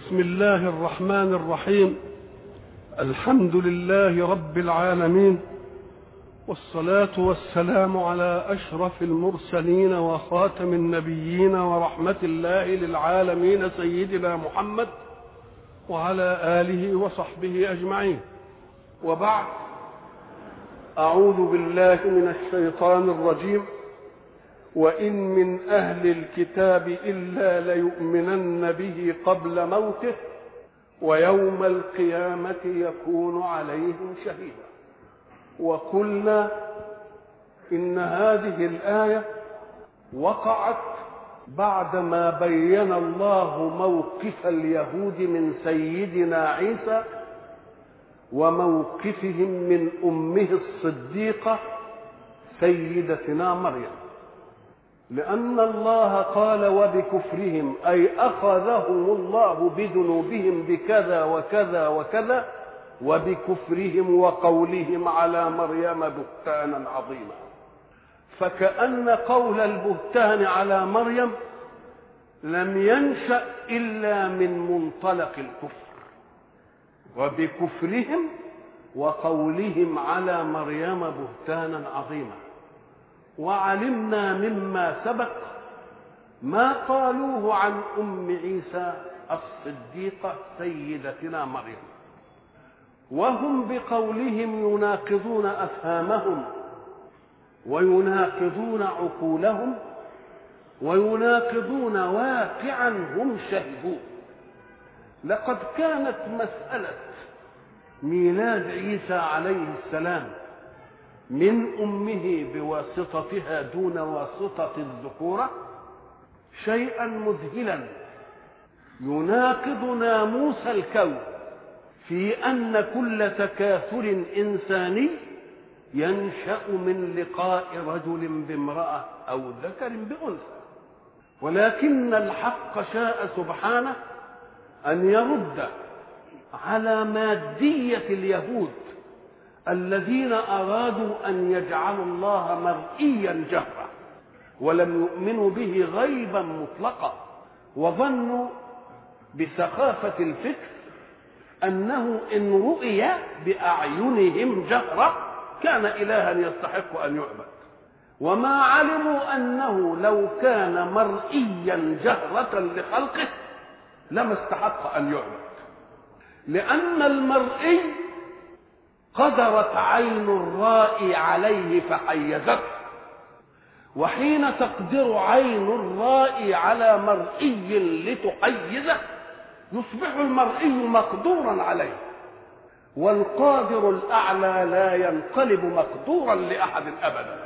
بسم الله الرحمن الرحيم. الحمد لله رب العالمين، والصلاة والسلام على أشرف المرسلين وخاتم النبيين ورحمة الله للعالمين سيدنا محمد وعلى آله وصحبه أجمعين، وبعد. أعوذ بالله من الشيطان الرجيم. وإن من أهل الكتاب إلا ليؤمنن به قبل موته ويوم القيامة يكون عليهم شهيدا. وقلنا إن هذه الآية وقعت بعدما بين الله موقف اليهود من سيدنا عيسى وموقفهم من أمه الصديقة سيدتنا مريم، لأن الله قال وبكفرهم أي أخذهم الله بذنوبهم بكذا وكذا وكذا، وبكفرهم وقولهم على مريم بهتانا عظيما. فكأن قول البهتان على مريم لم ينشأ إلا من منطلق الكفر، وبكفرهم وقولهم على مريم بهتانا عظيما. وعلمنا مما سبق ما قالوه عن أم عيسى الصديقة سيدتنا مريم، وهم بقولهم يناقضون أفهامهم ويناقضون عقولهم ويناقضون واقعا هم شهدوه. لقد كانت مسألة ميلاد عيسى عليه السلام من أمه بواسطتها دون واسطة الذكورة شيئا مذهلا يناقض ناموس الكون، في أن كل تكاثر إنساني ينشأ من لقاء رجل بامرأة أو ذكر بأنثى. ولكن الحق شاء سبحانه أن يرد على مادية اليهود الذين أرادوا أن يجعلوا الله مرئيا جهرا ولم يؤمنوا به غيبا مطلقا، وظنوا بسخافة الفكر أنه إن رؤي بأعينهم جهرا كان إلها يستحق أن يعبد، وما علموا أنه لو كان مرئيا جهرة لخلقه لما استحق أن يعبد، لأن المرئي قدرت عين الرائي عليه فحيزته، وحين تقدر عين الرائي على مرئي لتحيزه يصبح المرئي مقدورا عليه، والقادر الأعلى لا ينقلب مقدورا لأحد أبدا.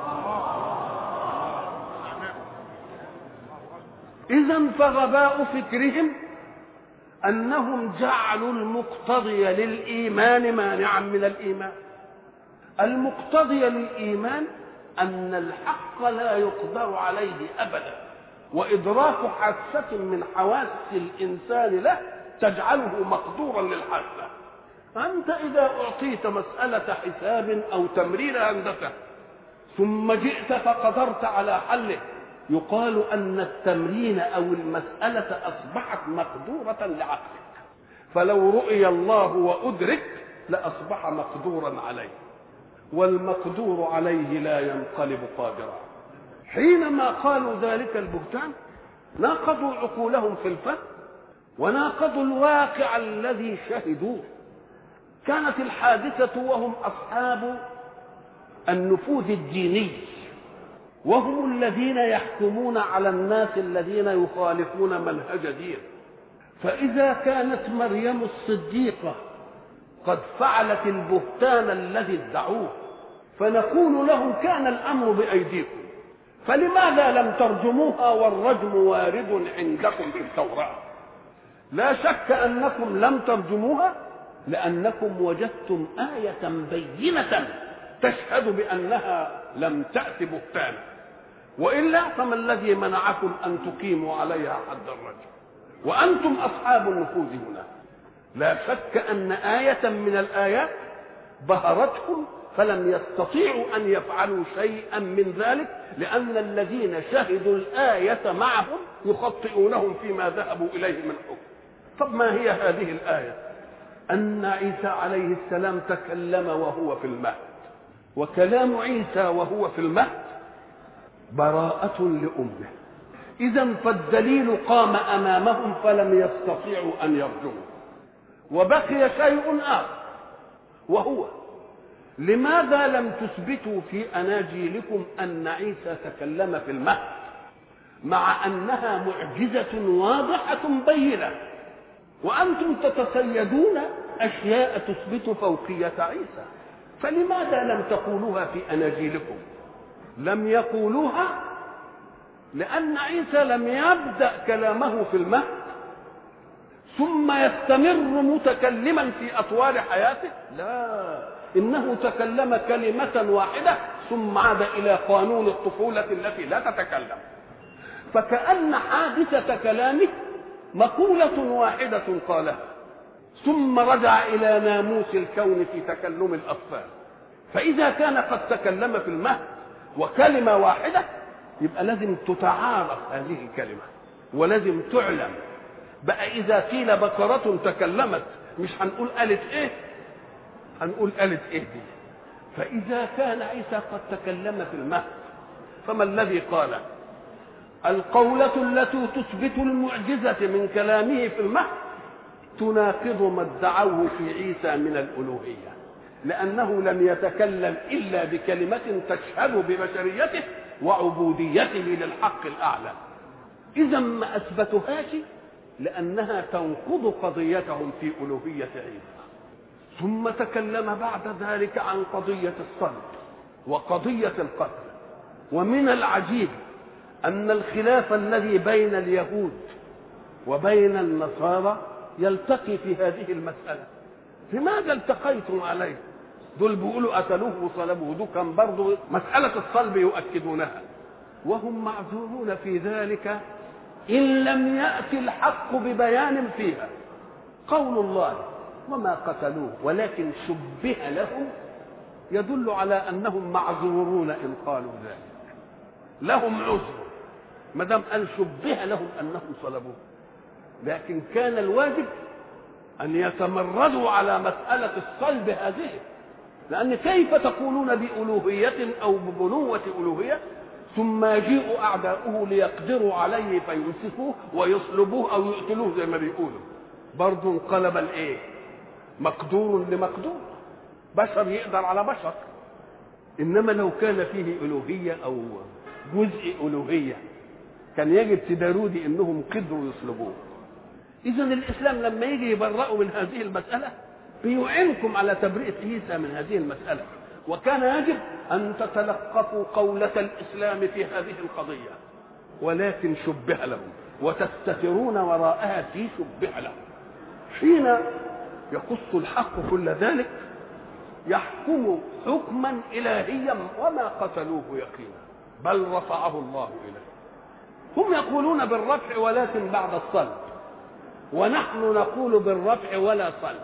إذن فغباء فكرهم أنهم جعلوا المقتضي للإيمان مانعا من الإيمان. المقتضي للإيمان أن الحق لا يقدر عليه أبدا، وإدراك حاسة من حواس الإنسان له تجعله مقدورا للحاسة. أنت إذا أعطيت مسألة حساب أو تمرين هندسة ثم جئت فقدرت على حله يقال أن التمرين أو المسألة أصبحت مقدورة لعقلك، فلو رؤي الله وأدرك لأصبح مقدورا عليه، والمقدور عليه لا ينقلب قادرا. حينما قالوا ذلك البهتان ناقضوا عقولهم في الفهم وناقضوا الواقع الذي شهدوه. كانت الحادثة وهم أصحاب النفوذ الديني، وهم الذين يحكمون على الناس الذين يخالفون منهج دين. فإذا كانت مريم الصديقة قد فعلت البهتان الذي ادعوه فنقول لهم كان الأمر بأيديكم، فلماذا لم ترجموها والرجم وارد عندكم في التوراة؟ لا شك أنكم لم ترجموها لأنكم وجدتم آية بينة تشهد بأنها لم تأت بهتانا، وإلا فما الذي منعكم أن تقيموا عليها حد الرجم وأنتم أصحاب النفوذ هنا؟ لا شك أن آية من الآيات بهرتهم فلم يستطيعوا أن يفعلوا شيئا من ذلك، لأن الذين شهدوا الآية معهم يخطئونهم فيما ذهبوا إليه من حكم. طب ما هي هذه الآية؟ أن عيسى عليه السلام تكلم وهو في المهد، وكلام عيسى وهو في المهد براءة لأمه. إذن فالدليل قام أمامهم فلم يستطيعوا أن يرجوه. وبقي شيء آخر، وهو لماذا لم تثبتوا في أناجيلكم أن عيسى تكلم في المهد مع أنها معجزة واضحة بينة، وأنتم تتصيدون أشياء تثبت فوقية عيسى؟ فلماذا لم تقولوها في أناجيلكم؟ لم يقولوها لأن عيسى لم يبدأ كلامه في المهد ثم يستمر متكلما في أطوال حياته، لا، إنه تكلم كلمة واحدة ثم عاد إلى قانون الطفولة التي لا تتكلم. فكأن حادثة كلامه مقولة واحدة قالها ثم رجع إلى ناموس الكون في تكلم الأطفال. فإذا كان قد تكلم في المهد وكلمة واحدة يبقى لازم تتعارف هذه الكلمة ولازم تعلم. بقى إذا قيل بقرة تكلمت مش هنقول قالت إيه، هنقول قالت إيه دي. فإذا كان عيسى قد تكلم في المهد فما الذي قال؟ القولة التي تثبت المعجزة من كلامه في المهد تناقض ما ادعوه في عيسى من الألوهية، لأنه لم يتكلم إلا بكلمة تشهد ببشريته وعبوديته للحق الأعلى. إذا ما أثبتهاش لأنها تنقض قضيتهم في ألوهية عيسى. ثم تكلم بعد ذلك عن قضية الصلب وقضية القتل. ومن العجيب أن الخلاف الذي بين اليهود وبين النصارى يلتقي في هذه المسألة. لماذا التقيتم عليه؟ دول بيقولوا قتلوه وصلبوه، دول كان برضه مسألة الصلب يؤكدونها، وهم معذورون في ذلك إن لم يأتي الحق ببيان فيها. قول الله وما قتلوه ولكن شبه لهم يدل على أنهم معذورون إن قالوا ذلك، لهم عذر ما دام قال شبه لهم أنهم صلبوه. لكن كان الواجب أن يتمردوا على مسألة الصلب هذه، لأن كيف تقولون بألوهية أو ببنوة ألوهية ثم يجيء أعداؤه ليقدروا عليه فيمسكوه ويصلبوه أو يقتلوه زي ما بيقولوا؟ برضو انقلب الإيه؟ مقدور لمقدور، بشر يقدر على بشر. إنما لو كان فيه ألوهية أو جزء ألوهية كان يجب تدارودي إنهم قدروا يصلبوه. إذا الإسلام لما يجي يبرأوا من هذه المسألة بيعينكم على تبرئة عيسى من هذه المسألة، وكان يجب أن تتلقفوا قولة الإسلام في هذه القضية، ولكن شبه لهم وتستترون وراءها في شبه لهم. حين يقص الحق كل ذلك يحكم حكما إلهيا وما قتلوه يقينا بل رفعه الله إليه. هم يقولون بالرفع ولكن بعد الصلب، ونحن نقول بالرفع ولا صلب.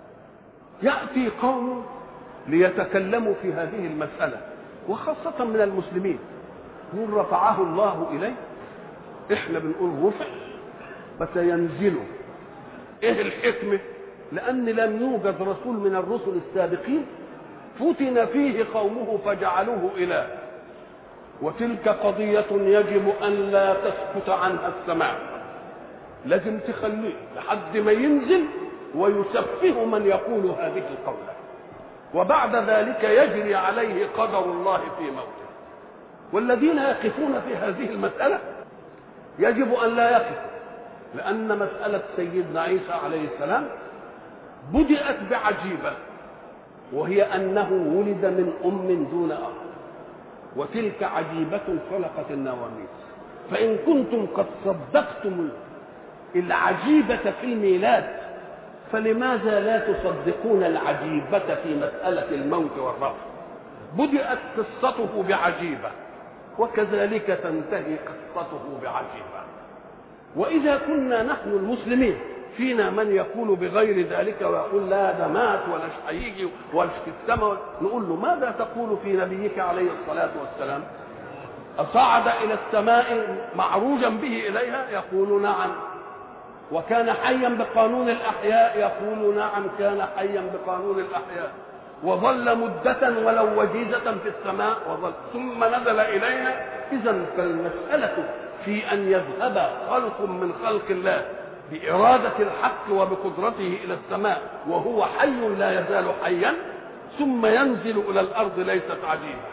يأتي قوم ليتكلموا في هذه المسألة وخاصة من المسلمين يقول رفعه الله إليه، إحنا بنقول رفع بس ينزله. إيه الحكمة؟ لأن لم يوجد رسول من الرسل السابقين فتن فيه قومه فجعلوه إله، وتلك قضية يجب أن لا تسكت عنها السماء، لازم تخليه لحد ما ينزل ويسفه من يقول هذه القولة، وبعد ذلك يجري عليه قدر الله في موته. والذين يقفون في هذه المسألة يجب أن لا يقفوا، لأن مسألة سيدنا عيسى عليه السلام بدأت بعجيبة، وهي أنه ولد من أم دون أب، وتلك عجيبة خلقت النواميس. فإن كنتم قد صدقتم العجيبة في الميلاد فلماذا لا تصدقون العجيبة في مسألة الموت والرفع؟ بدأت قصته بعجيبة وكذلك تنتهي قصته بعجيبة. وإذا كنا نحن المسلمين فينا من يقول بغير ذلك ويقول لا ده مات ولا هيجي ولا في السماء، نقول له ماذا تقول في نبيك عليه الصلاة والسلام؟ أصعد إلى السماء معروجا به إليها؟ يقول نعم. وكان حيا بقانون الأحياء، يقول نعم كان حيا بقانون الأحياء، وظل مدة ولو وجيزة في السماء وظل ثم نزل إلينا. إذن فالمسألة في أن يذهب خلق من خلق الله بإرادة الحق وبقدرته إلى السماء وهو حي لا يزال حيا ثم ينزل إلى الأرض ليست عجيبة.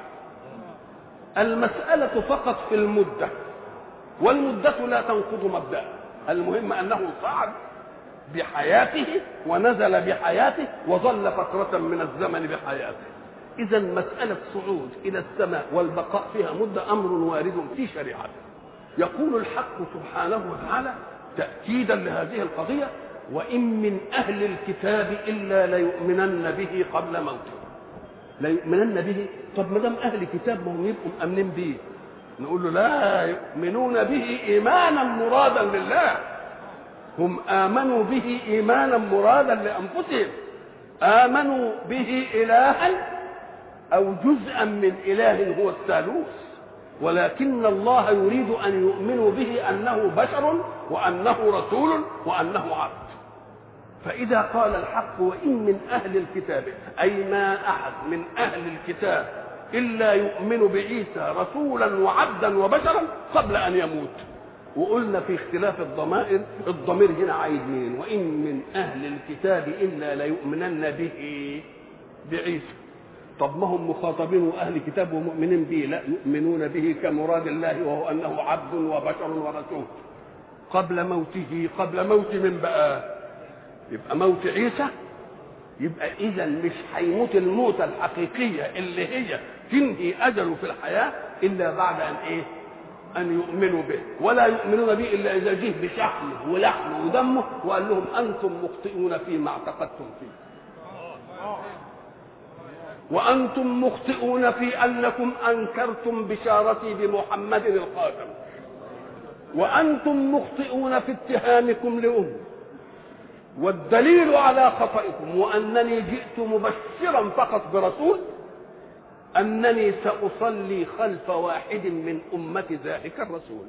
المسألة فقط في المدة، والمدة لا تنقض مبدأ، المهم أنه صعد بحياته ونزل بحياته وظل فترة من الزمن بحياته. إذا مسألة صعود إلى السماء والبقاء فيها مدة أمر وارد في شريعته. يقول الحق سبحانه وتعالى تأكيدا لهذه القضية: وإن من أهل الكتاب إلا ليؤمنن به قبل موته. ليؤمنن به، طب ما دام أهل كتاب ما هم يبقوا مؤمنين به؟ نقول له لا، يؤمنون به إيمانا مرادا لله. هم آمنوا به إيمانا مرادا لأنفسهم، آمنوا به إلها أو جزءا من إله هو الثالوث، ولكن الله يريد أن يؤمنوا به أنه بشر وأنه رسول وأنه عبد. فإذا قال الحق وإن من أهل الكتاب، أي ما أحد من أهل الكتاب إلا يؤمن بعيسى رسولا وعبدا وبشرا قبل أن يموت. وقلنا في اختلاف الضمائر، الضمير هنا عايد مين؟ وإن من أهل الكتاب إلا ليؤمنن به بعيسى. طب ما هم مخاطبين أهل كتاب ومؤمنين به؟ لا، يؤمنون به كمراد الله وهو أنه عبد وبشر ورسول قبل موته. قبل موت من بقى؟ يبقى موت عيسى. يبقى إذا مش هيموت الموتة الحقيقية اللي هي تنهي أجله في الحياة إلا بعد أن إيه؟ أن يؤمنوا به. ولا يؤمنون به إلا إذا جه بشحمه ولحمه ودمه وقال لهم أنتم مخطئون فيما اعتقدتم فيه، وأنتم مخطئون في أنكم أنكرتم بشارتي بمحمد الخاتم، وأنتم مخطئون في اتهامكم لأمه، والدليل على خطئكم وأنني جئت مبشرا فقط برسول أنني سأصلي خلف واحد من أمة ذلك الرسول،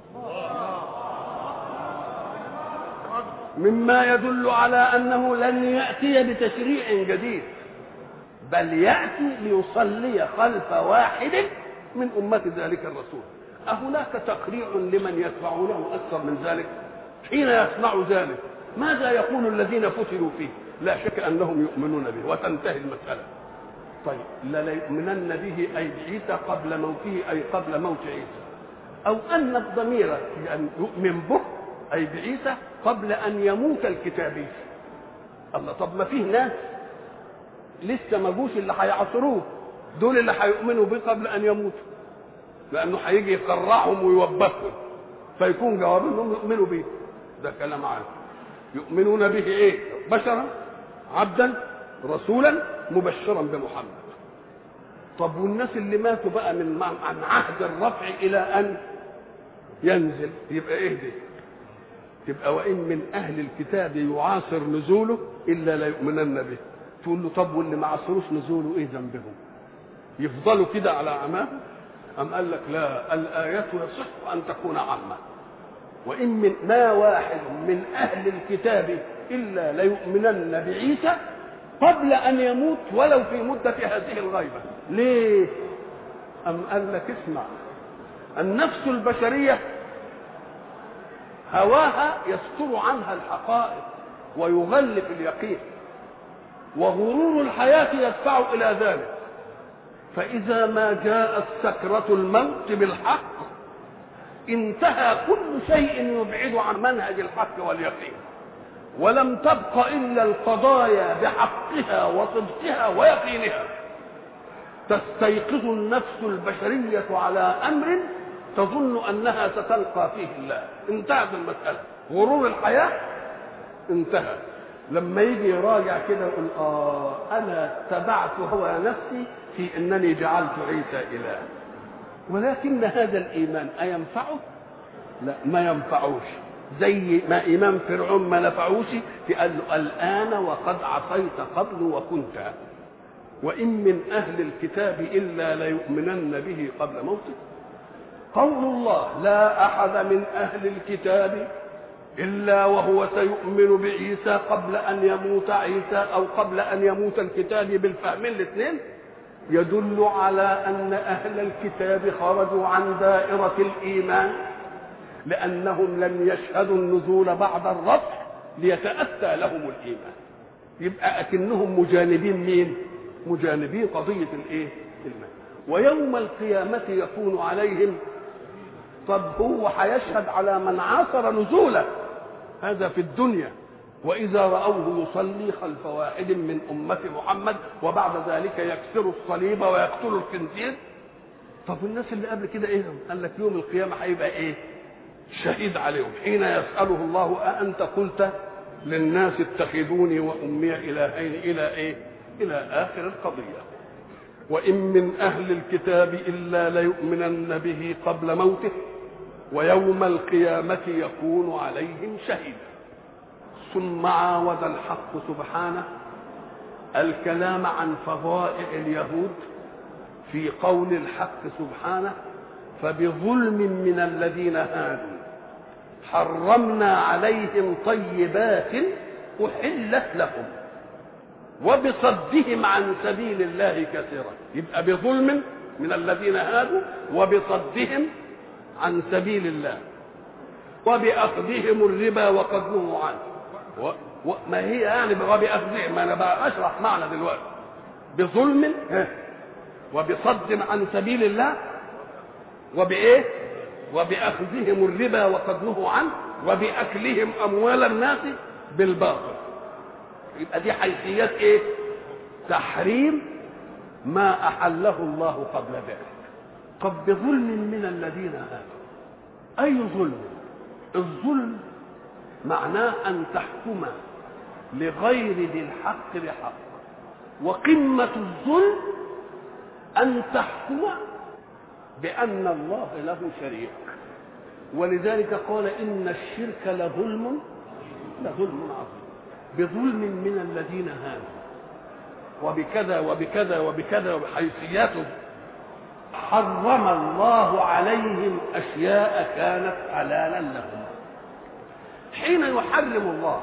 مما يدل على أنه لن يأتي بتشريع جديد، بل يأتي ليصلي خلف واحد من أمة ذلك الرسول. أهناك تقريع لمن يتبعونه أكثر من ذلك؟ حين يصنع ذلك ماذا يقول الذين فتنوا فيه؟ لا شك أنهم يؤمنون به وتنتهي المسألة. طيب لا يؤمنن به أي بعيسى قبل موته، أي قبل موت عيسى، أو أن الضمير يعني يؤمن به أي بعيسى قبل أن يموت الكتابي. الله، طب ما فيه ناس لسه ما جوش اللي هيعصروه، دول اللي هيؤمنوا به قبل أن يموتوا، لأنه هيجي يقرعهم ويوبخهم، فيكون جواب أنهم يؤمنوا به. ده كلام عام. يؤمنون به إيه؟ بشرا عبدا رسولا مبشرا بمحمد. طب والناس اللي ماتوا بقى من عن عهد الرفع إلى أن ينزل يبقى إيه دي؟ تبقى وإن من أهل الكتاب يعاصر نزوله إلا لا يؤمنن به. تقول له طب واللي ما عاصروش نزوله إيه ذنبهم؟ يفضلوا كده على عماهم؟ أم قال لك لا، الآيات يصح أن تكون عامة. وإن من ما واحد من أهل الكتاب إلا ليؤمنن بعيسى قبل أن يموت ولو في مدة هذه الغيبة. ليه؟ أم قال لك اسمع، النفس البشرية هواها يستر عنها الحقائق ويغلف اليقين، وغرور الحياة يدفع إلى ذلك. فإذا ما جاءت سكرة الموت بالحق انتهى كل شيء يبعد عن منهج الحق واليقين، ولم تبق إلا القضايا بحقها وصدقها ويقينها. تستيقظ النفس البشرية على أمر تظن أنها ستلقى فيه الله. انتهت المسألة، غرور الحياة انتهى. لما يجي يراجع كده يقول أنا تبعت هوى نفسي في أنني جعلت عيسى إله، ولكن هذا الإيمان أينفعه؟ لا، ما ينفعوش. زي ما إيمان فرعون ما نفعوش، قال له الآن وقد عصيت قبل وكنت. وإن من أهل الكتاب إلا ليؤمنن به قبل موته. قول الله لا أحد من أهل الكتاب إلا وهو سيؤمن بعيسى قبل أن يموت عيسى أو قبل أن يموت الكتاب بالفهمين الاثنين، يدل على أن أهل الكتاب خرجوا عن دائرة الإيمان لأنهم لم يشهدوا النزول بعد الرفع ليتأتى لهم الإيمان. يبقى أكنهم مجانبين مين؟ مجانبين قضية الإيه؟ الإيمان. ويوم القيامة يكون عليهم. طب هو هيشهد على من عاصر نزوله، هذا في الدنيا، وإذا رأوه يصلي خلف واحد من أمة محمد وبعد ذلك يكسر الصليب ويقتل الخنزير. طب الناس اللي قبل كده ايه؟ قال لك يوم القيامة هيبقى ايه؟ شهيد عليهم حين يسأله الله أأنت قلت للناس اتخذوني وأمي إلهين إلى ايه؟ إلى آخر القضية. وإن من أهل الكتاب إلا ليؤمنن به قبل موته ويوم القيامة يكون عليهم شهيدا. ثم عاود الحق سبحانه الكلام عن فضائع اليهود في قول الحق سبحانه: فبظلم من الذين هادوا حرمنا عليهم طيبات أحلت لهم وبصدهم عن سبيل الله كثيرا. يبقى بظلم من الذين هادوا وبصدهم عن سبيل الله وبأخذهم الربا وقد نهوا عنه. ما هي يعني وبأخذهم؟ ما أنا بقى أشرح معنى دلوقتي. بظلم وبصد عن سبيل الله وبإيه؟ وبأخذهم الربا وقد نهوا عنه وبأكلهم أموال الناس بالباطل. يبقى دي حيثيات ايه؟ تحريم ما احله الله قبل ذلك. طب بظلم من الذين هادوا، اي ظلم؟ الظلم معناه ان تحكم لغير ذي الحق بحق، وقمة الظلم ان تحكم بان الله له شريك. ولذلك قال ان الشرك لظلم عظيم. بظلم من الذين هادوا وبكذا وبكذا وبكذا وبحيثياته حرم الله عليهم أشياء كانت حلالا لهم. حين يحرم الله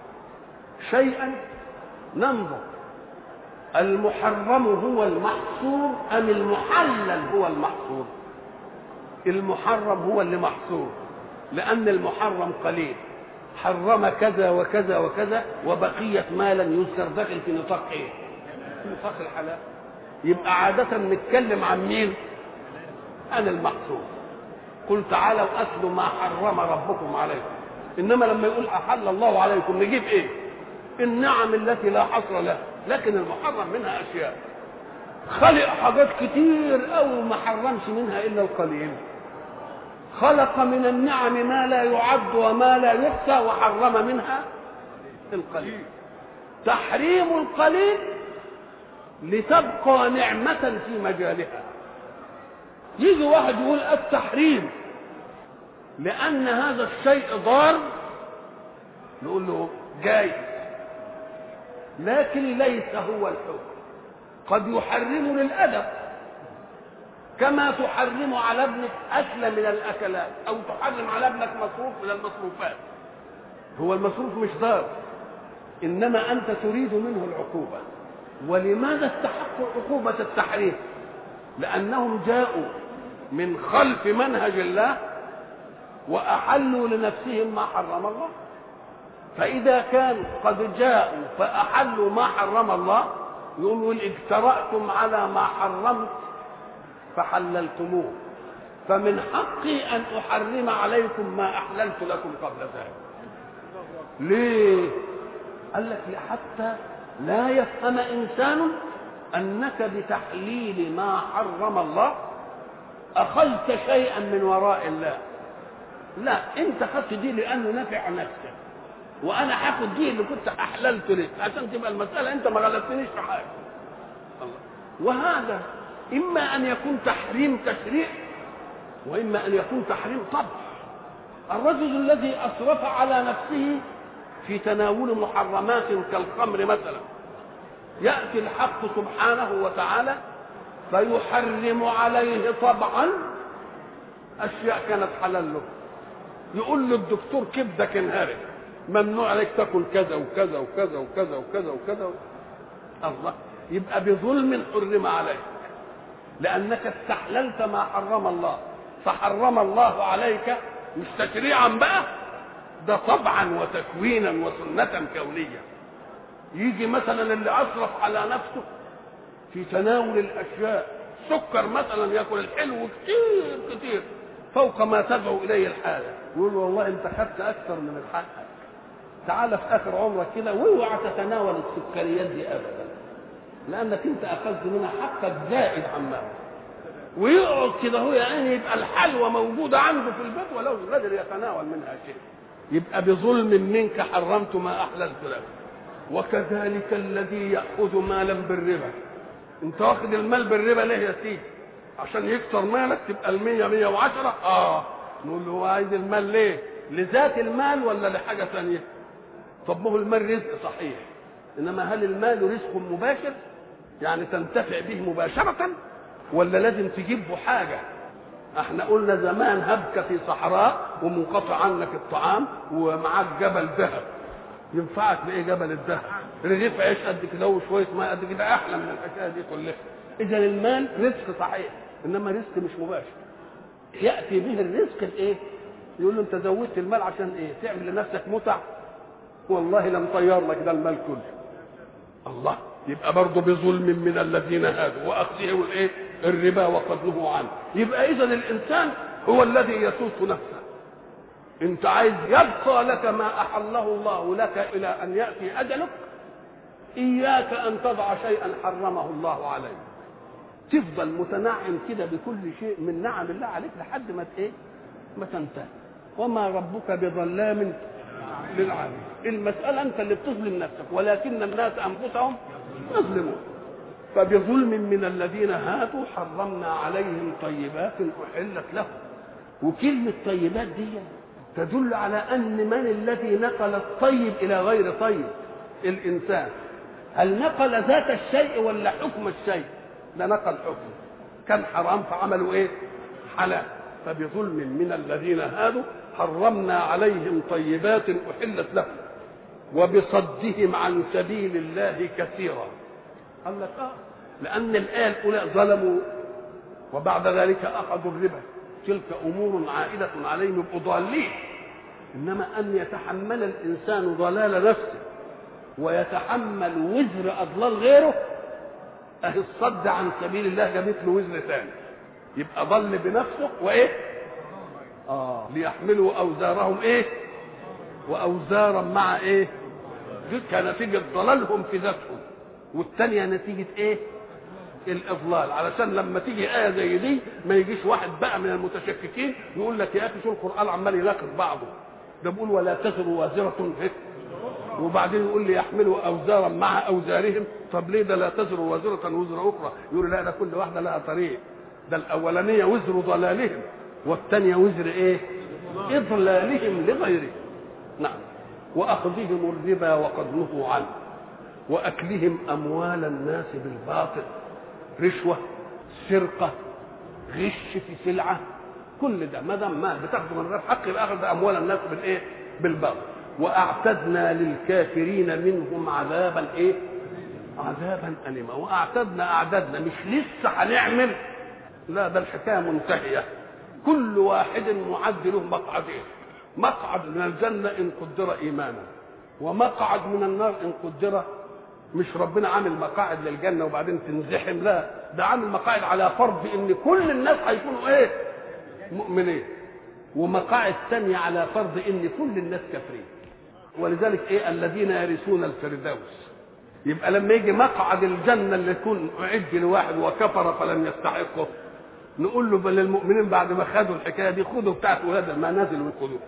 شيئا ننظر المحرم هو المحصور أم المحلل هو المحصور؟ المحرم هو اللي محصور، لأن المحرم قليل، حرم كذا وكذا وكذا وبقية ما لم يذكر داخل في نطاق ايه؟ في نطاق الحلال. يبقى عادة نتكلم عن مين؟ عن المحصور. قل تعالوا أتلوا ما حرم ربكم عليكم. إنما لما يقول أحل الله عليكم نجيب ايه؟ النعم التي لا حصر لها، لكن المحرم منها أشياء. خلق حاجات كتير أو ما حرمش منها إلا القليل. خلق من النعم ما لا يعد وما لا يحصى وحرم منها القليل. تحريم القليل لتبقى نعمة في مجالها. يجي واحد يقول التحريم لأن هذا الشيء ضار، نقول له جايز، لكن ليس هو الحكم. قد يحرم للأدب، كما تحرم على ابنك أكل من الأكلات، أو تحرم على ابنك مصروف من المصروفات. هو المصروف مش ضار، إنما أنت تريد منه العقوبة. ولماذا استحقوا عقوبة التحريم؟ لأنهم جاءوا من خلف منهج الله وأحلوا لنفسهم ما حرم الله. فإذا كانوا قد جاءوا فأحلوا ما حرم الله، يقولوا اجترأتم على ما حرمت فحللتموه، فمن حقي أن أحرم عليكم ما أحللت لكم قبل ذلك. ليه؟ قال لك حتى لا يفهم إنسان أنك بتحليل ما حرم الله أخذت شيئا من وراء الله. لا، أنت أخذت دي لأنه نفع نفسك، وأنا هاخد دي اللي كنت أحللت لك عشان تبقى المسألة أنت ما غلبتنيش في حاجة. وهذا إما أن يكون تحريم تشريع وإما أن يكون تحريم طبع. الرجل الذي أسرف على نفسه في تناول محرمات كالخمر مثلا، يأتي الحق سبحانه وتعالى فيحرم عليه طبعا أشياء كانت حلال له، يقول له الدكتور كبدك انهرت، ممنوع عليك تاكل كذا وكذا وكذا وكذا وكذا وكذا. الله، يبقى بظلم حرم عليك لانك استحللت ما حرم الله، فحرم الله عليك مش تشريعا بقى، ده طبعا وتكوينا وسنة كونية. يجي مثلا اللي أسرف على نفسه في تناول الأشياء، سكر مثلا، ياكل الحلو كتير كتير فوق ما تدعو إليه الحالة، يقول والله أنت خدت أكثر من الحق، تعال في آخر عمرك كده واوعى تتناول السكريات دي أبدا، لأنك أنت أخذت منها حقك زائد عما ويقعد كده هو يعني يبقى الحلوى موجودة عنده في البيت ولو قادر يتناول منها شيء، يبقى بظلم منك حرمت ما أحللت لك. وكذلك الذي يأخذ مالا بالربا، انت واخد المال بالربا ليه يا سيدي؟ عشان يكسر مالك تبقى 110. نقول له هو عايز المال ليه؟ لذات المال ولا لحاجة ثانية؟ طب ما هو المال رزق صحيح، انما هل المال رزق مباشر يعني تنتفع به مباشرة ولا لازم تجيبه حاجة؟ احنا قلنا زمان هبك في صحراء ومنقطع عنك الطعام ومعاك جبل ذهب، ينفعك بايه جبل الذهب؟ رغيف عيش قد كده وشويه ماء قد كده احلى من الحكايه دي كلها. اذا المال رزق صحيح انما رزق مش مباشر. ياتي به الرزق الايه؟ يقول له انت زودت المال عشان ايه؟ تعمل لنفسك متع؟ والله لم طير لك ده المال كله. الله، يبقى برضه بظلم من الذين هادوا واخذهم الايه؟ الربا وقد نهوا عنه. يبقى اذا الانسان هو الذي يسوق نفسه. انت عايز يبقى لك ما احله الله لك الى ان ياتي اجلك، اياك ان تضع شيئا حرمه الله عليك، تفضل متنعم كده بكل شيء من نعم الله عليك لحد ما ايه؟ ما تنتهي. وما ربك بظلام للعبيد. المساله انت اللي بتظلم نفسك ولكن الناس انفسهم يظلمون. فبظلم من الذين هادوا حرمنا عليهم طيبات احلت لهم. وكلمه طيبات دي تدل على ان من الذي نقل الطيب الى غير طيب؟ الانسان. هل نقل ذات الشيء ولا حكم الشيء؟ ده نقل حكم، كان حرام فعملوا ايه؟ حلال. فبظلم من الذين هادوا حرمنا عليهم طيبات احلت لهم وبصدهم عن سبيل الله كثيرا. قال لك لان الايه الاولى ظلموا وبعد ذلك اخذوا الربا، تلك امور عائده عليهم يبقوا ضالين. انما ان يتحمل الانسان ضلال نفسه ويتحمل وزر اضلال غيره، اهي الصد عن سبيل الله جابت له وزر ثاني، يبقى ضل بنفسه وايه؟ ليحملوا اوزارهم ايه؟ واوزارا مع ايه؟ دي كنتيجه ضلالهم في ذاتهم، والثانيه نتيجه ايه؟ الاضلال. علشان لما تيجي ايه زي دي ما يجيش واحد بقى من المتشككين يقول لك يا اخي شو القران عمال يناقض بعضه، ده بيقول ولا تزر وازره وبعدين يقول لي يحملوا اوزارا مع اوزارهم. طب ليه ده لا تزر وازره وزر اخرى؟ يقول لا، ده كل واحده لها طريق، ده الاولانيه وزر ضلالهم والثانيه وزر ايه؟ اضلالهم لغيره. نعم. واخذهم الربا وقد نهوا عنه واكلهم اموال الناس بالباطل، رشوه، سرقه، غش في سلعه، كل ده ما دام مال بتاخده من غير حق يبقى اخذ اموال الناس بالايه؟ بالباطل. واعتدنا للكافرين منهم عذابا ايه؟ عذابا اليما. واعتدنا اعددنا، مش لسه هنعمل، لا ده الحكايه منتهيه. كل واحد معد له مقعدين، مقعد من الجنه ان قدر ايمانا، ومقعد من النار ان قدر. مش ربنا عامل مقاعد للجنه وبعدين تنزحم، لا، ده عامل مقاعد على فرض ان كل الناس هيكونوا ايه؟ مؤمنين، ومقاعد ثانيه على فرض ان كل الناس كافرين. ولذلك ايه؟ الذين يرثون الفردوس. يبقى لما يجي مقعد الجنه اللي يكون اعد لواحد وكفر فلم يستحقه، نقول له بل المؤمنين بعد ما خدوا الحكايه دي خدوا بتاعت ولاد المنازل وخدوه،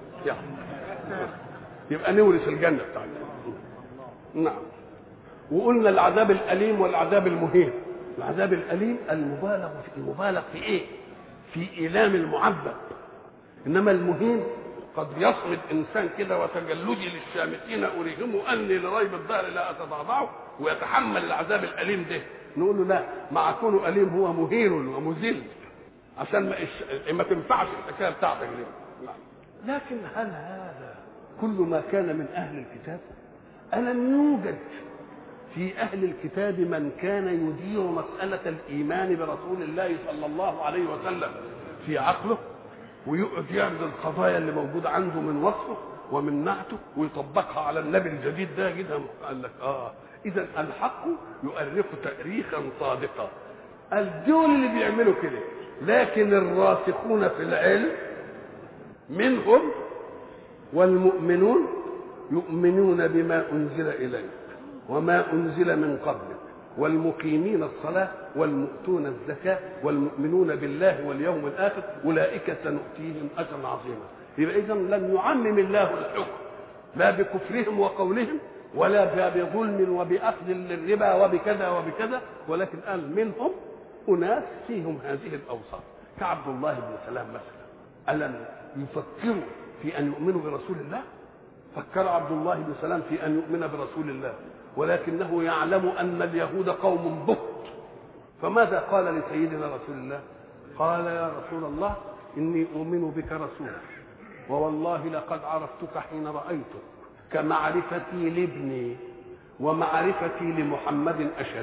يبقى نورث الجنه بتاعتنا. نعم. وقلنا العذاب الاليم والعذاب المهين. العذاب الاليم المبالغ في ايه؟ في ايلام المعذب. انما المهين قد يصمد انسان كده وتجلدي للشامتين اريهم اني لريب الدهر لا اتضعضعه ويتحمل العذاب الاليم ده. نقول له لا، مع كونه اليم هو مهين ومذل عشان ما تنفعش الحكايه بتاعتك دي. لكن هل هذا كل ما كان من أهل الكتاب؟ ألم يوجد في أهل الكتاب من كان يدير مسألة الإيمان برسول الله صلى الله عليه وسلم في عقله ويقعد يعرض القضايا اللي موجودة عنده من وصفه ومن نعته ويطبقها على النبي الجديد ده كده؟ قال لك إذا الحق يؤرخ تأريخا صادقا. الدول اللي بيعملوا كده، لكن الراسخون في العلم منهم والمؤمنون يؤمنون بما أنزل إليك وما أنزل من قبلك والمقيمين الصلاة والمؤتون الزكاة والمؤمنون بالله واليوم الآخر أولئك سنؤتيهم أجرا عظيما. يبقى إذا لم يعمم الله الحكم لا بكفرهم وقولهم ولا بظلم وبأخذ للربا وبكذا وبكذا، ولكن قال منهم أناس فيهم هذه الأوصاف كعبد الله بن سلام مثلا. ألم يفكروا في أن يؤمنوا برسول الله؟ فكر عبد الله بن سلام في أن يؤمن برسول الله، ولكنه يعلم أن اليهود قوم بهت. فماذا قال لسيدنا رسول الله؟ قال يا رسول الله إني أؤمن بك رسولا ووالله لقد عرفتك حين رأيتك كمعرفتي لابني ومعرفتي لمحمد أشد.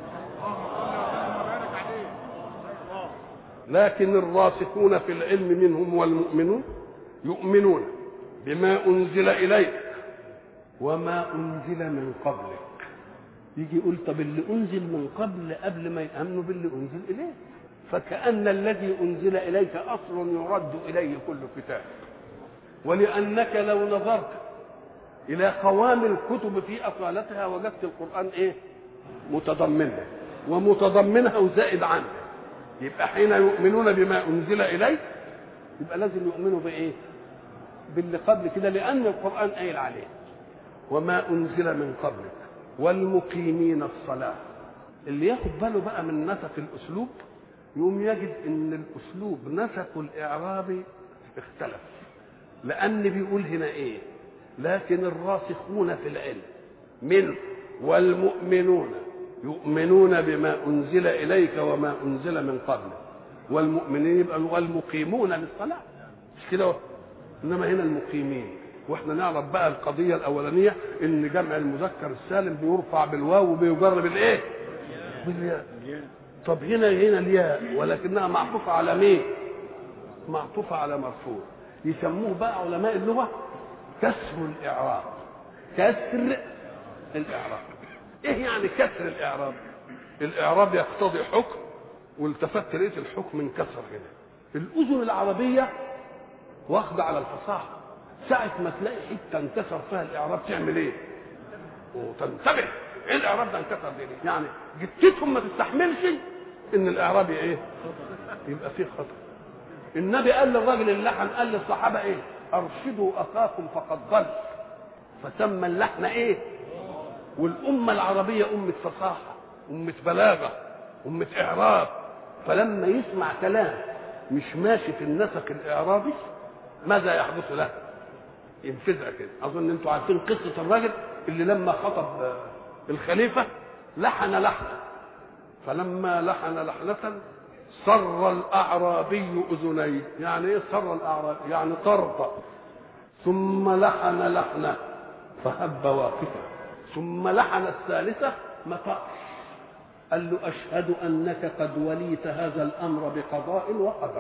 لكن الراسخون في العلم منهم والمؤمنون يؤمنون بما أنزل إليك وما أنزل من قبلك. يجي يقول طب اللي أنزل من قبل ما يأمنوا باللي أنزل إليه، فكأن الذي أنزل إليك أصل يرد إليه كل كتاب. ولأنك لو نظرت إلى قوام الكتب في أصالتها وجدت القرآن إيه؟ متضمنها ومتضمنها وزائد عنها. يبقى حين يؤمنون بما أنزل إليك يبقى لازم يؤمنوا بإيه؟ باللي قبل كده، لأن القرآن قايل عليه وما أنزل من قبلك والمقيمين الصلاة. اللي ياخد باله بقى من نسق الأسلوب يقوم يجد إن الأسلوب نسق الإعرابي اختلف، لأن بيقول هنا إيه؟ لكن الراسخون في العلم منه والمؤمنون يؤمنون بما أنزل إليك وما أنزل من قبلك والمؤمنين يبقى والمقيمون للصلاة، مش كده؟ إنما هنا المقيمين. واحنا نعرف بقى القضية الأولانية إن جمع المذكر السالم بيرفع بالواو وبيجر بالإيه؟ بالياء. طب هنا الياء ولكنها معطوفة على مين؟ معطوفة على مرفوع. يسموه بقى علماء اللغة كسر الإعراب. كسر الإعراب. إيه يعني كسر الإعراب؟ الإعراب يقتضي حكم والتفت لقيت الحكم انكسر هنا. الأذن العربية واخدة على الفصاحة، ساعة ما تلاقي حتة انكسر فيها الإعراب تعمل إيه؟ وتنتبه إيه الإعراب ده انكسر ليه؟ يعني جتتهم ما تستحملش إن الإعراب إيه؟ يبقى فيه خطأ. النبي قال للراجل اللحن، قال للصحابة إيه؟ أرشدوا أخاكم فقد ضل، فسمى اللحن إيه؟ والأمة العربية أمة فصاحة، أمة بلاغة، أمة إعراب. فلما يسمع كلام مش ماشي في النسق الإعرابي ماذا يحدث له؟ ينفذها كده. أظن أنتم عارفين قصة الراجل اللي لما خطب الخليفة لحن لحنة، فلما لحن لحنة صر الأعرابي أذنيه. يعني إيه صر الأعرابي؟ يعني طرطق. ثم لحن لحنة فهب واقفا، ثم لحن الثالثة مطأ. قال له أشهد أنك قد وليت هذا الأمر بقضاء وقدر.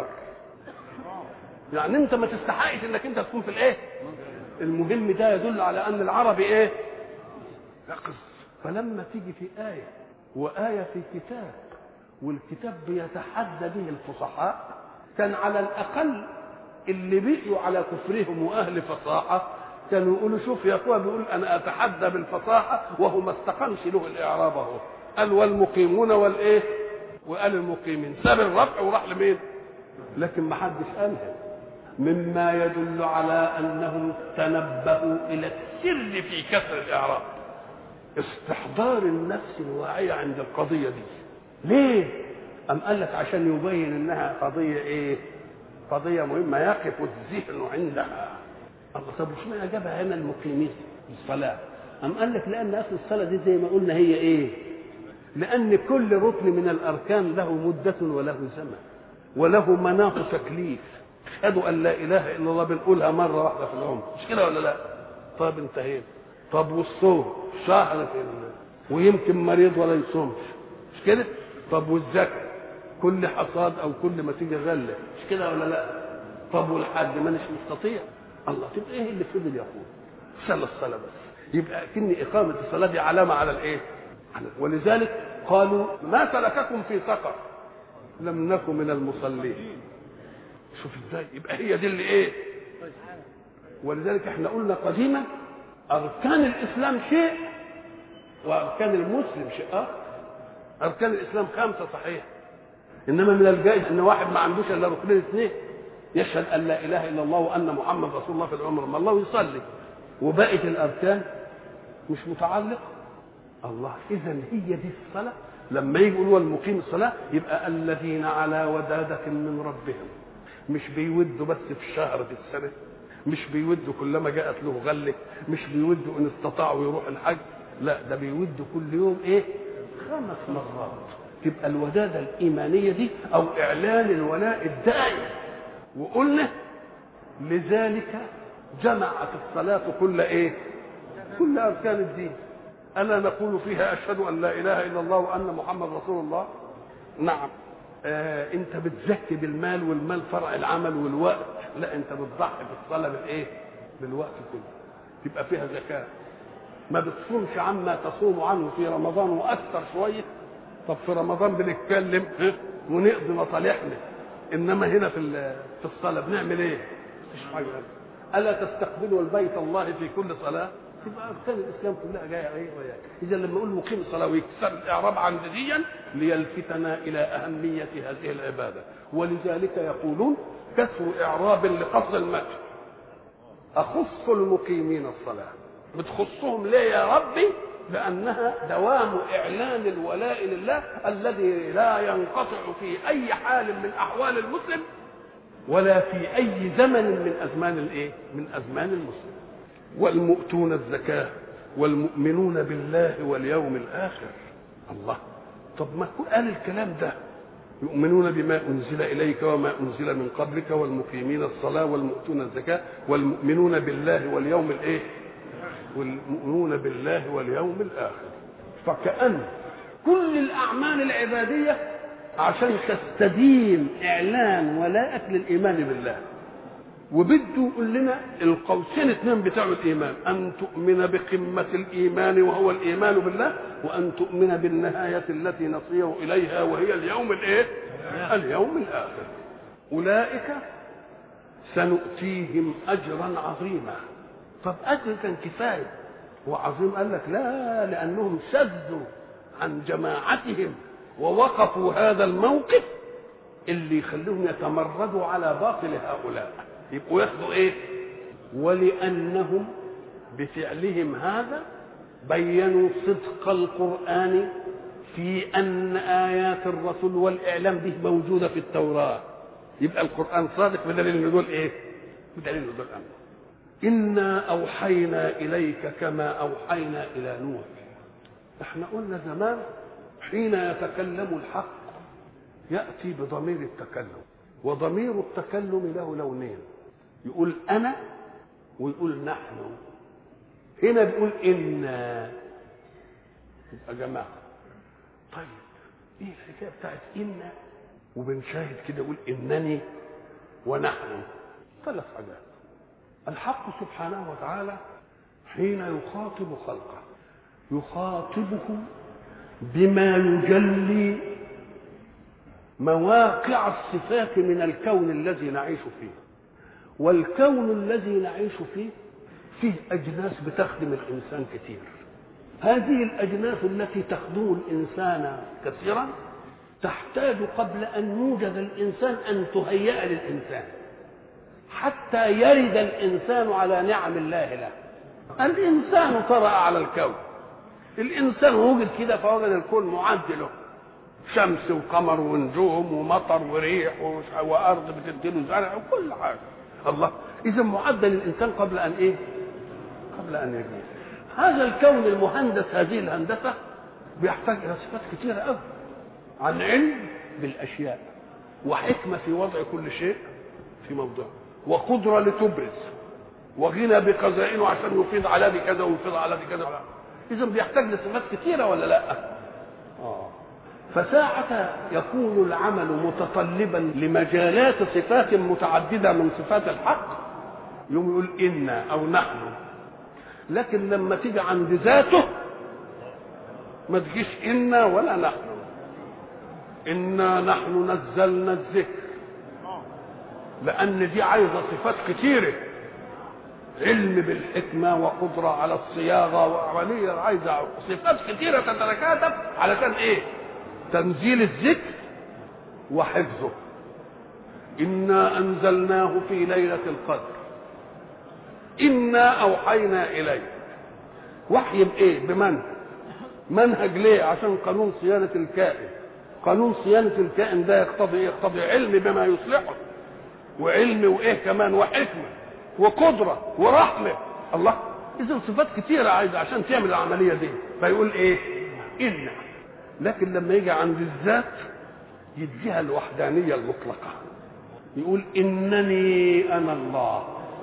يعني أنت ما تستحقش أنك أنت تكون في الإيه؟ المهم ده يدل على أن العربي إيه؟ يقظ. فلما تيجي في آية وآية في كتاب والكتاب بيتحدى به الفصحاء، كان على الأقل اللي بقيوا على كفرهم وأهل فصاحة كانوا يقولوا شوف يا أخوة بيقول أنا أتحدى بالفصاحة وهو ما استقمش له الإعراب أهو. قال والمقيمون والإيه؟ وقال المقيمين، ساب الرفع وراح لمين؟ لكن ما حدش قالها، مما يدل على أنهم تنبهوا إلى السر في كسر الإعراب. استحضار النفس الواعية عند القضية دي. ليه؟ أم قال لك عشان يبين إنها قضية إيه؟ قضية مهمة يقف الذهن عندها. الله طب وش معنى جابها هنا المقيمين الصلاة؟ أم قال لك لأن أصل الصلاة دي زي ما قلنا هي إيه؟ لأن كل ركن من الأركان له مدة وله زمن وله مناط تكليف. أشهد أن لا إله إلا الله بنقولها مرة واحدة في العمر، مش كده ولا لا؟ طب انتهينا. طب والصوم شهر في ويمكن مريض ولا يصومش، مش كده؟ طب والزكاة كل حصاد أو كل ما تيجي غلة، مش كده ولا لا؟ طب والحج مانيش مستطيع. الله، تبقى إيه اللي فضل يقول؟ صلى الصلاة بس. يبقى كن إقامة الصلاة دي علامة على الإيه؟ ولذلك قالوا ما سلككم في سقر؟ لم نكن من المصلين. شوف ازاي، يبقى هي دي اللي ايه. ولذلك احنا قلنا قديما اركان الاسلام شيء واركان المسلم شيء اخر. اركان الاسلام 5 صحيح، انما من الجائز ان واحد ما عندوش الا ركنين 2، يشهد ان لا اله الا الله وان محمد رسول الله في العمر ما الله يصلي، وبقيه الاركان مش متعلقه. الله، اذا هي دي الصلاه. لما يجي يقولوا المقيم الصلاه يبقى الذين على ودادة من ربهم، مش بيودوا بس في الشهر في السنه، مش بيودوا كلما جاءت له غله، مش بيودوا ان استطاعوا يروح الحج، لا ده بيودوا كل يوم ايه 5 مرات. تبقى الوداده الايمانيه دي او اعلان الولاء الدائم. وقلنا لذلك جمعت الصلاه كل ايه؟ كل اركان الدين. الا نقول فيها اشهد ان لا اله الا الله وان محمد رسول الله؟ نعم. انت بتزكي بالمال، والمال فرع العمل والوقت، لا انت بتضحي بالصلاه بالايه؟ بالوقت كله. تبقى فيها زكاه. ما بتصومش عما تصوم عنه في رمضان واكثر شويه. طب في رمضان بنتكلم ونقضي مصالحنا، انما هنا في الصلاه بنعمل ايه؟ مفيش حاجه. الا تستقبلوا البيت الله في كل صلاه؟ تبقى اركان الاسلام كلها جايه ايه وياك. اذا لما نقول مقيم الصلاه ويكسر الاعراب عن ديا ليلفتنا الى اهميه هذه العباده. ولذلك يقولون كسر اعراب لقصر المدح. اخص المقيمين الصلاه، بتخصهم ليه يا ربي؟ لانها دوام اعلان الولاء لله الذي لا ينقطع في اي حال من احوال المسلم ولا في اي زمن من ازمان الايه؟ من ازمان المسلم. والمؤتون الزكاة والمؤمنون بالله واليوم الآخر. الله، طب ما قال الكلام ده؟ يؤمنون بما أنزل إليك وما أنزل من قبلك والمقيمين الصلاة والمؤتون الزكاة والمؤمنون بالله واليوم الإيه؟ والمؤمنون بالله واليوم الآخر. فكأن كل الأعمال العبادية عشان تستديم إعلان ولاءك للإيمان بالله. وبده يقول لنا القوسين 2 بتاع الايمان، ان تؤمن بقمه الايمان وهو الايمان بالله، وان تؤمن بالنهايه التي نصير اليها وهي اليوم الايه؟ اليوم الاخر. اولئك سنؤتيهم اجرا عظيما. طب اجر كان كفايه وعظيم؟ قال لك لا، لانهم شذوا عن جماعتهم ووقفوا هذا الموقف اللي يخليهم يتمردوا على باطل هؤلاء، يبقوا ياخدوا ايه؟ ولانهم بفعلهم هذا بينوا صدق القرآن في ان ايات الرسول والاعلام به موجوده في التوراه. يبقى القرآن صادق بدليل ان دول ايه؟ بدليل ان دول امر. انا اوحينا اليك كما اوحينا الى نوح. احنا قلنا زمان حين يتكلم الحق ياتي بضمير التكلم، وضمير التكلم له لونين، يقول انا ويقول نحن. هنا بيقول انا، يبقى جماعه. طيب ايه الحكايه بتاعت انا وبنشاهد كده يقول انني ونحن؟ 3 حاجات. الحق سبحانه وتعالى حين يخاطب خلقه يخاطبه بما يجلي مواقع الصفات من الكون الذي نعيش فيه. والكون الذي نعيش فيه أجناس بتخدم الإنسان كثير. هذه الأجناس التي تخدم الإنسان كثيرا تحتاج قبل أن يوجد الإنسان أن تهيأ للإنسان حتى يرد الإنسان على نعم الله له. الإنسان طرأ على الكون، الإنسان وجد كده فوجد الكون معد له، شمس وقمر ونجوم ومطر وريح وارض بتديله زرع وكل حاجه. الله، اذا معدل الانسان قبل ان ايه؟ قبل ان يجي. هذا الكون المهندس هذه الهندسه بيحتاج الى صفات كثيره قوي، عن علم بالاشياء وحكمه في وضع كل شيء في موضوع، وقدرة لتبرز، وغنى بخزائنه عشان يفيض على دي كذا ويفيض على دي كذا. إذا بيحتاج لصفات كثيرة ولا لا؟ فساعة يكون العمل متطلبا لمجالات صفات متعددة من صفات الحق يوم يقول إنا أو نحن. لكن لما تيجي عند ذاته ما تجيش إنا ولا نحن. إنا نحن نزلنا الذكر، لأن دي عايزة صفات كتيرة، علم بالحكمة وقدرة على الصياغة وعملية، عايزة صفات كتيرة تتركاتب علشان إيه؟ تنزيل الذكر وحفظه. إنا أنزلناه في ليلة القدر، إنا أوحينا إليك. وحي بإيه؟ منهج ليه؟ عشان قانون صيانة الكائن. قانون صيانة الكائن ده يقتضي إيه؟ يقتضي علم بما يصلحه، وعلم وإيه كمان، وحكمة وقدرة ورحمة. الله، إذن صفات كتيرة عايزة عشان تعمل العملية دي. فيقول إيه؟ إنا. لكن لما يجي عند الذات يديها الوحدانية المطلقة، يقول إنني أنا الله.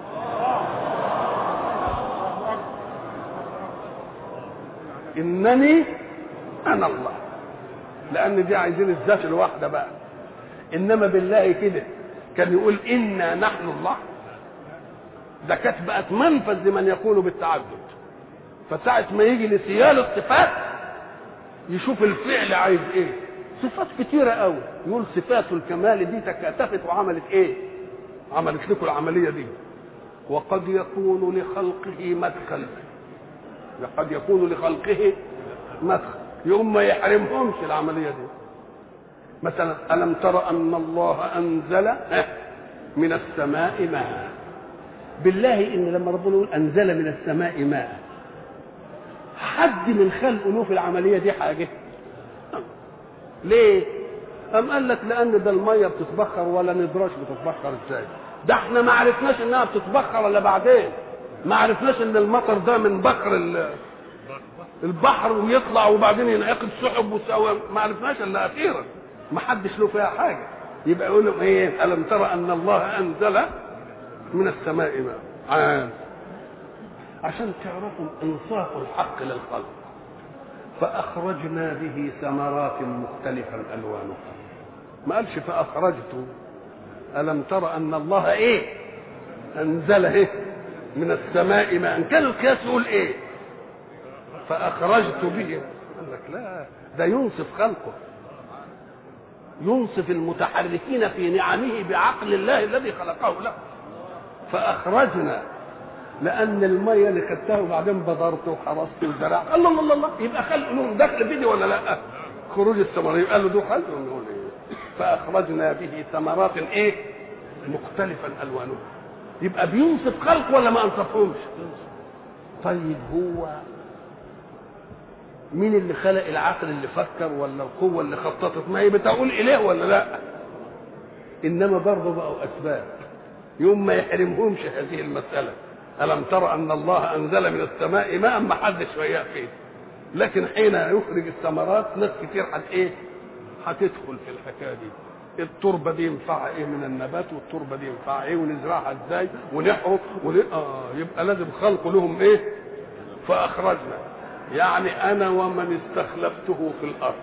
إنني أنا الله، لأن دي عايزين الذات الواحدة بقى. إنما بالله كده كان يقول إنا نحن الله، ده كانت بقت منفذ لمن يقول بالتعدد. فساعة ما يجي لسيال الصفات يشوف الفعل عايز ايه. صفات كتيرة قوي، يقول صفات الكمال دي تكاتفت وعملت ايه؟ عملت لكم العملية دي. وقد يكون لخلقه مدخل، قد يكون لخلقه مدخل يوم ما يحرمهمش العملية دي. مثلا ألم تر أن الله أنزل من السماء ماء. بالله إن لما ربنا يقول أنزل من السماء ماء، حد من خلقه له في العملية دي حاجة؟ ليه؟ أم قال لك لأن ده المية بتتبخر ولا ندراش بتتبخر ازاي؟ ده احنا ما عرفناش انها بتتبخر الا بعدين. ما عرفناش ان المطر ده من بخر البحر ويطلع وبعدين ينعقد سحب وسوى، ما عرفناش الا اخيرا. ما حدش له فيها حاجة. يبقى يقول لهم ايه؟ ألم ترى أن الله أنزل من السماء ماء، عشان تعرفوا انصاف الحق للخلق. فأخرجنا به ثمرات مختلفا ألوانها. ما قالش فأخرجت. ألم ترى أن الله إيه؟ أنزل إيه؟ من السماء ماء. كان القياس يقول إيه؟ فأخرجت به. قال لك لا، ده ينصف خلقه، ينصف المتحركين في نعمه بعقل الله الذي خلقه له. فأخرجنا، لأن المية اللي خدتها وبعدين بذرت وحرست وزرعت، الله الله الله، يبقى خلق لهم دخل فيدي ولا لا؟ خروج الثمرات يبقى له دخل. نقول إيه؟ فأخرجنا به ثمرات إيه؟ مختلفا ألوانها. يبقى بينصف خلق ولا ما أنصفهمش؟ طيب هو مين اللي خلق العقل اللي فكر ولا القوة اللي خططت؟ ما هي بتقول إله ولا لا؟ إنما برضه بقوا أسباب يوم ما يحرمهمش هذه المسألة. ألم ترى أن الله أنزل من السماء ماء، ما حدش وياه فيه. لكن حين يخرج الثمرات ناس كتير هتدخل في الحكاية دي. التربة دي ينفع ايه من النبات، والتربة دي ينفع ايه، ونزرعها ازاي، ونحرق يبقى لازم خلق لهم ايه؟ فأخرجنا، يعني أنا ومن استخلفته في الأرض،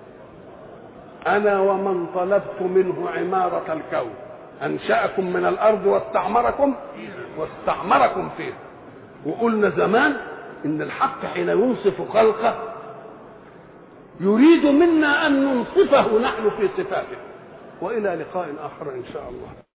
أنا ومن طلبت منه عمارة الكون، أنشأكم من الأرض واستعمركم فيه. وقلنا زمان إن الحق حين ينصف خلقه يريد منا أن ننصفه نحن في صفاته. وإلى لقاء آخر إن شاء الله.